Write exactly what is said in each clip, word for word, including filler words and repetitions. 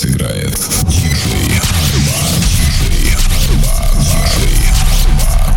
сейчас играет диджей Арман, диджей Арман, диджей Арман.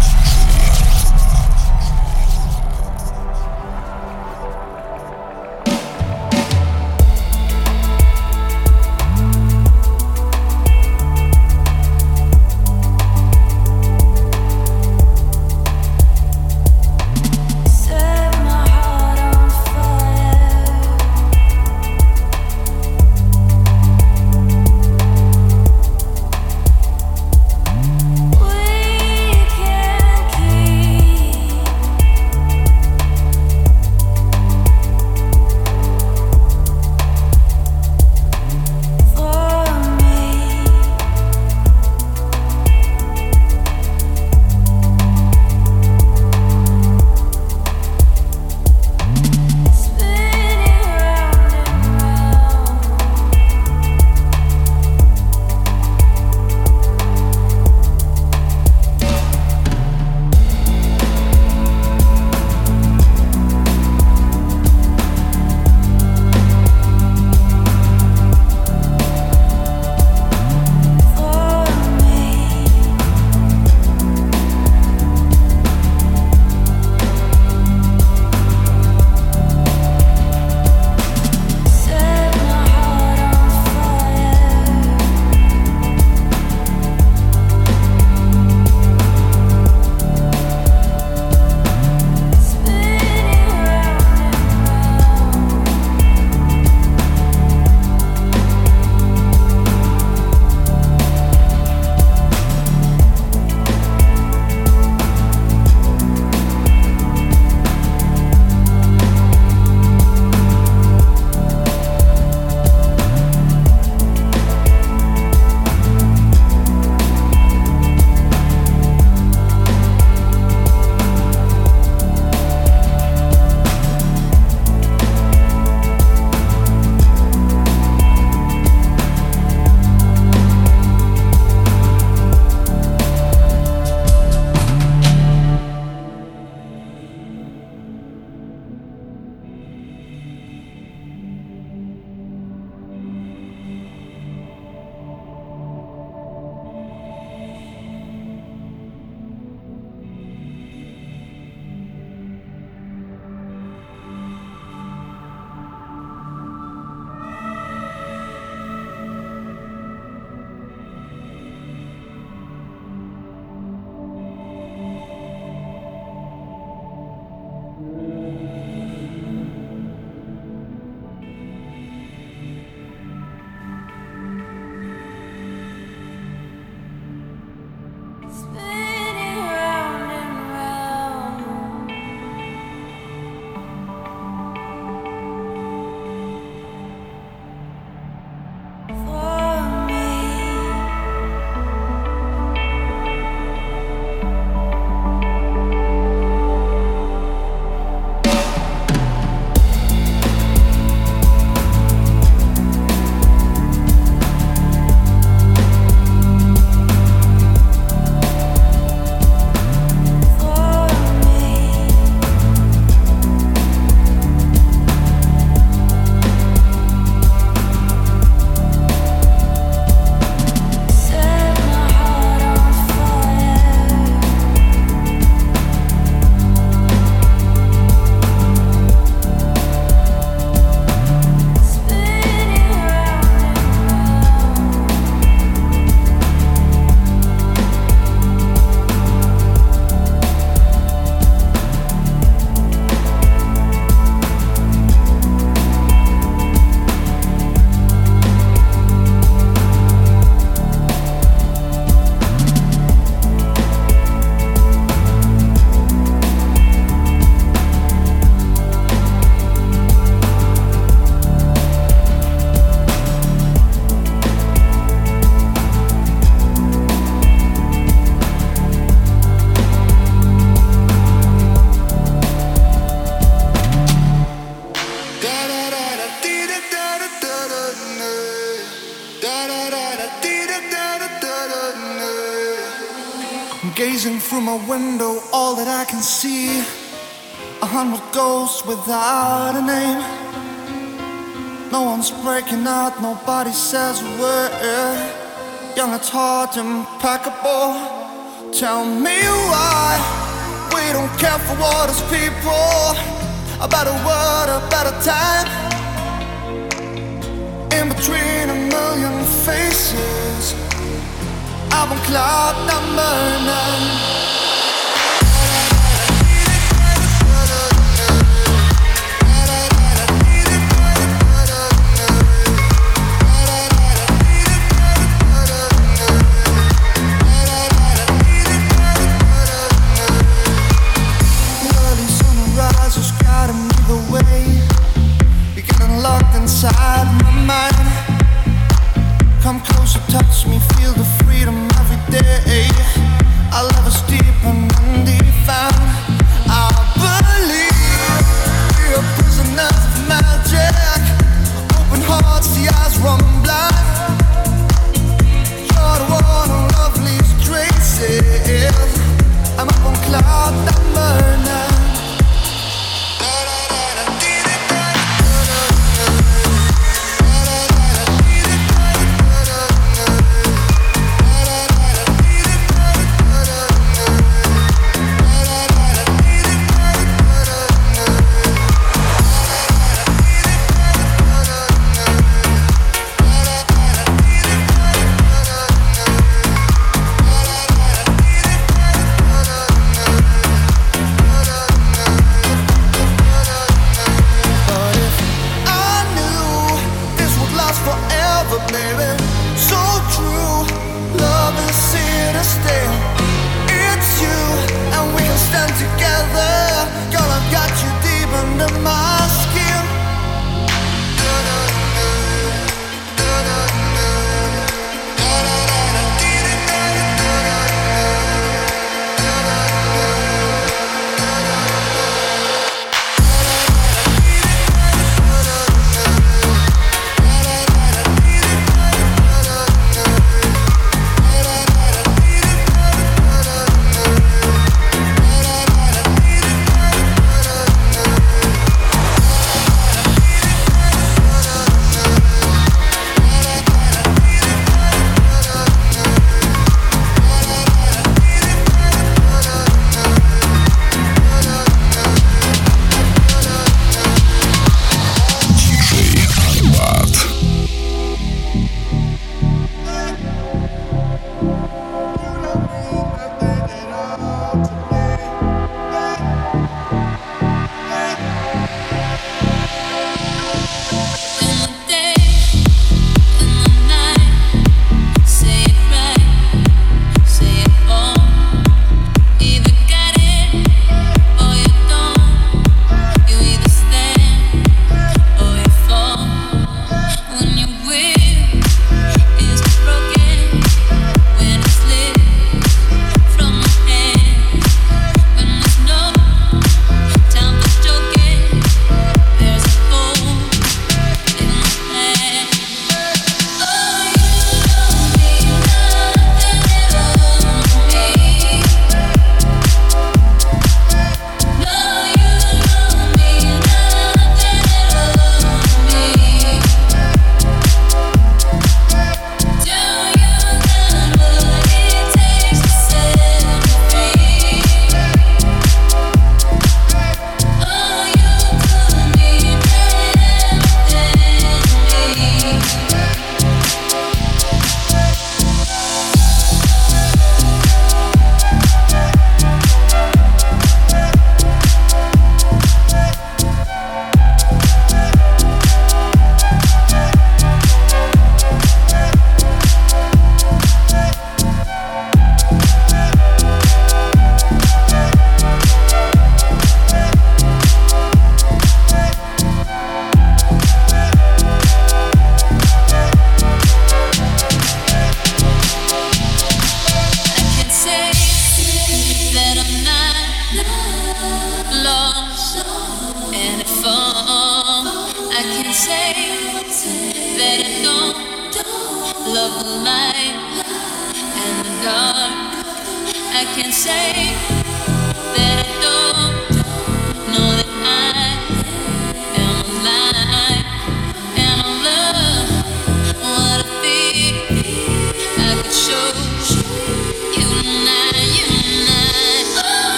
Gazing through my window, all that I can see, a hundred ghosts without a name. No one's breaking out, nobody says a word. Young at heart, impeccable. Tell me why we don't care for what is people. A better word, a better time. In between a million faces, I'm on cloud number nine. Inside my mind, come closer, touch me, feel the freedom every day. Our love is deep and undefined. I believe we are prisoners of magic. Open hearts, the eyes run blind. You're the one who love leaves traces. I'm up on cloud number nine. love the light and the dark. I can say that I don't know that I am alive and I'm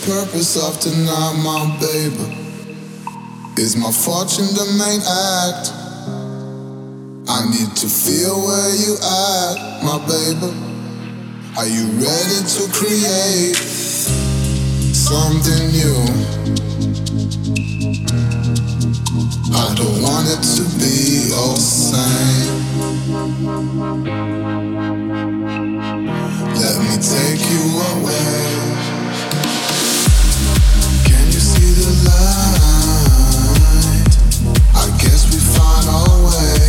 purpose of tonight, my baby? Is my fortune the main act? I need to feel where you at, my baby. Are you ready to create something new? I don't want it to be all same. Let me take you away. Can you see the light? I guess we find our way.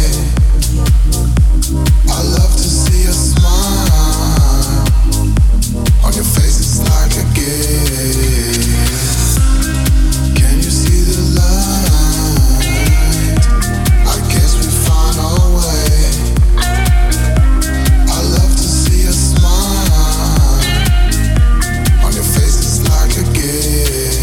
I love to see a smile on your face, it's like a gift. Can you see the light? I guess we find our way. I love to see a smile on your face, it's like a gift.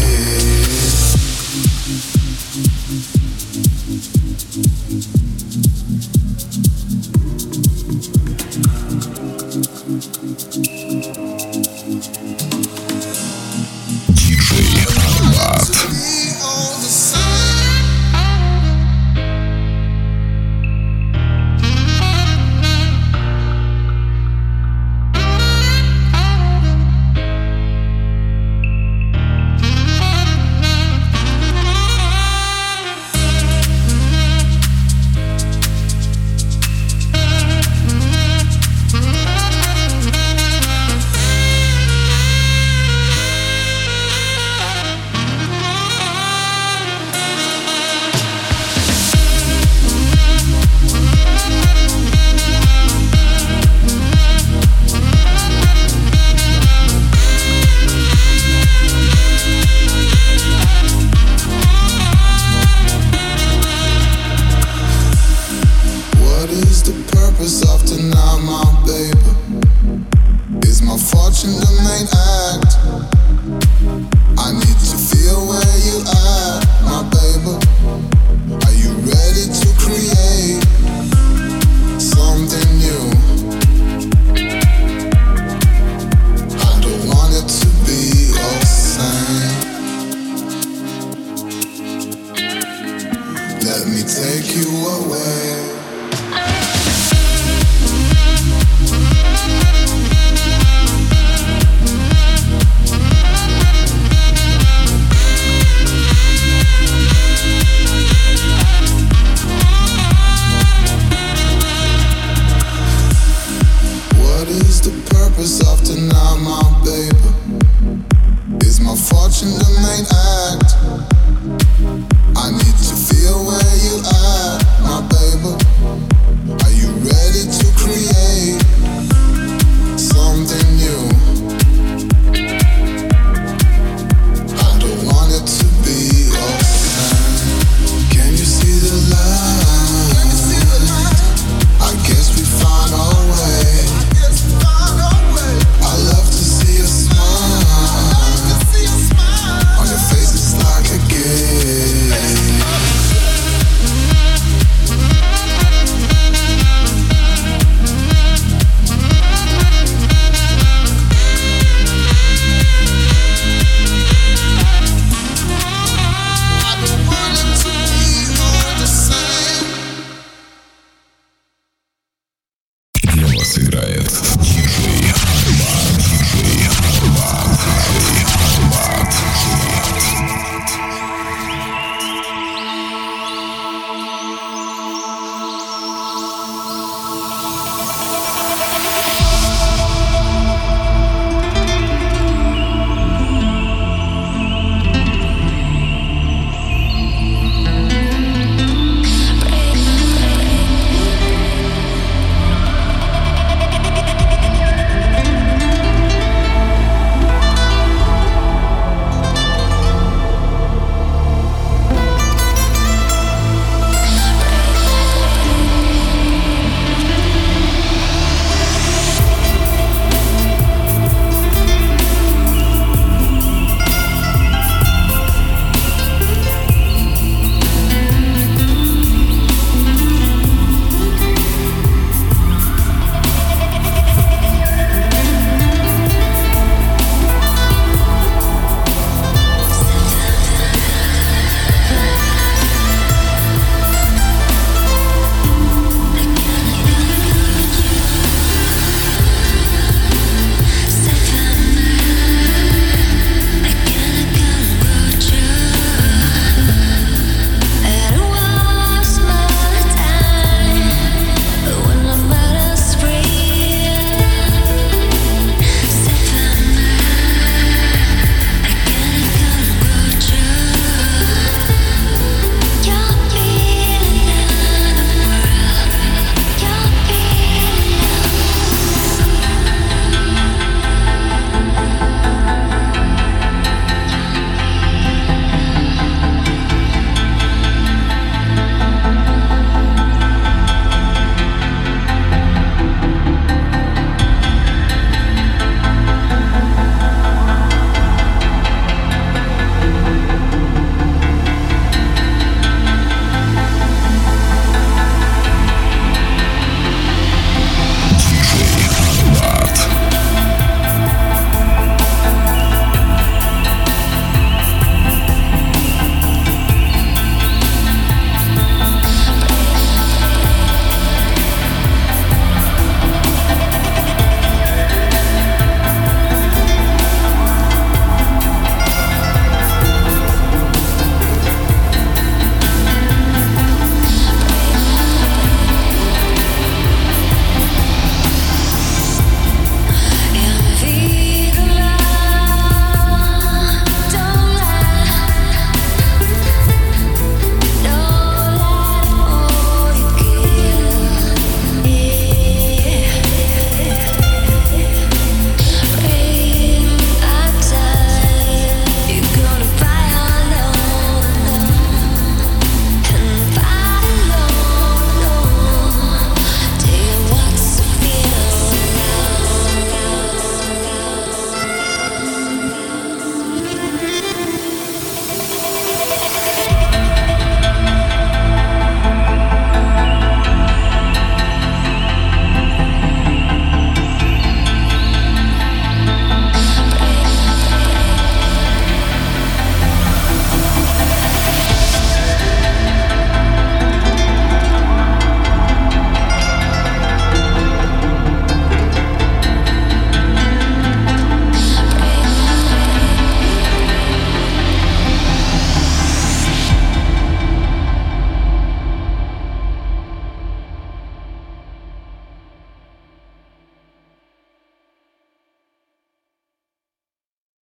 диджей Арбат. Of tonight, my baby. Is my fortune the main act? I need to feel where you at, my baby. Are you ready to create something new? I don't want it to be all same. Let me take you away. Of tonight, my baby. Is my fortune the main act? I need to feel where you at, my baby. Are you ready to create something new? I don't want it to be all same. Can you see the light? I guess we find our way. I love to see a smile on your face, it's like a gift. I don't want it to be all the same. Для вас играет